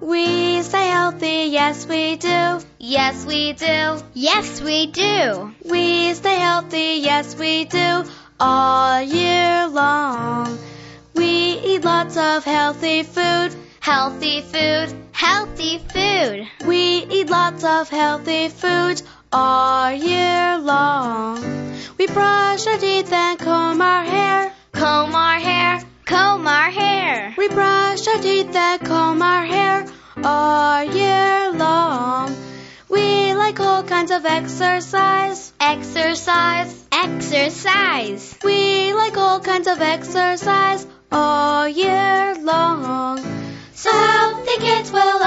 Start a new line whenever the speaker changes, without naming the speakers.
We stay healthy, yes we do.
Yes we do. Yes we do.
We stay healthy, yes we do, all year long. We eat lots of healthy food.
Healthy food. Healthy food.
We eat lots of healthy food all year long. We brush our teeth and comb our hair.
Comb our hair. Comb our hair.
We brush our teeth and comb our hair all year long. We like all kinds of exercise.
Exercise. Exercise.
We like all kinds of exercise all year long. So healthy kids will